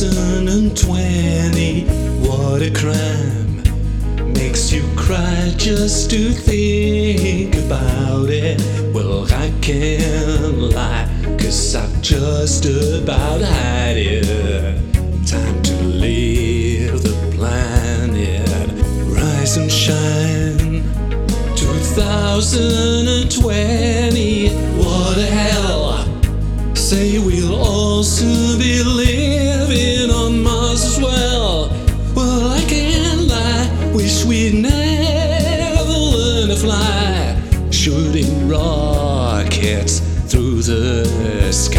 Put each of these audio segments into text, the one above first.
2020, what a crime. Makes you cry just to think about it. Well, I can't lie, 'cause I've just about had it. Time to leave the planet. Rise and shine. 2020, what the hell? Say we'll all soon be living on Mars as well. Well, I can't lie, wish we'd never learn to fly, shooting rockets through the sky.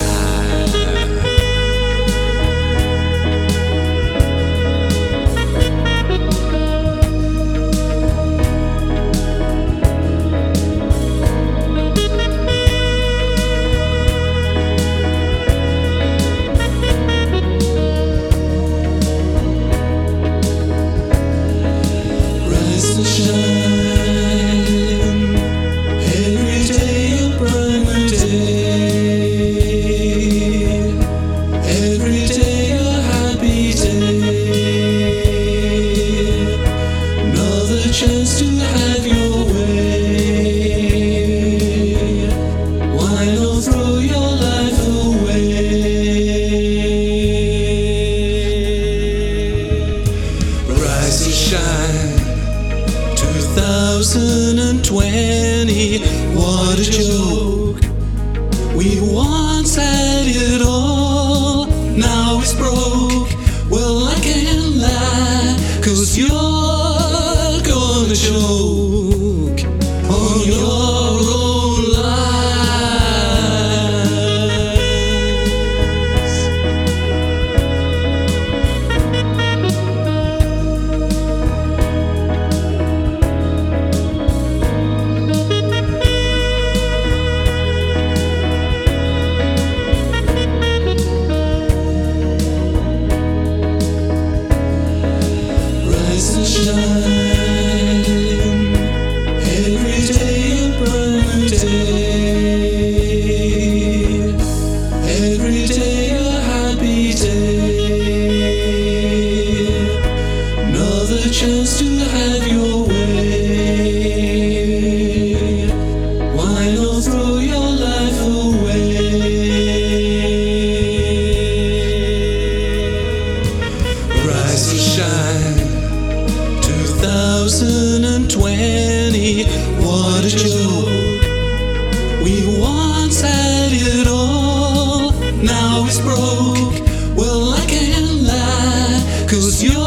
Every day a brighter day, every day a happy day, another chance to have your way. Why not throw your life away? Rise and shine. 2020, what a joke. We once had it all, now it's broke. Well, I can't lie, 'cause you're gonna choke on your own lies. Shine. Every day a brighter day, every day a happy day, another chance to have your way. Why not throw your life away? Rise and shine. 2020, what a joke. We once had it all, now it's broke. Well, I can't lie, 'cause you're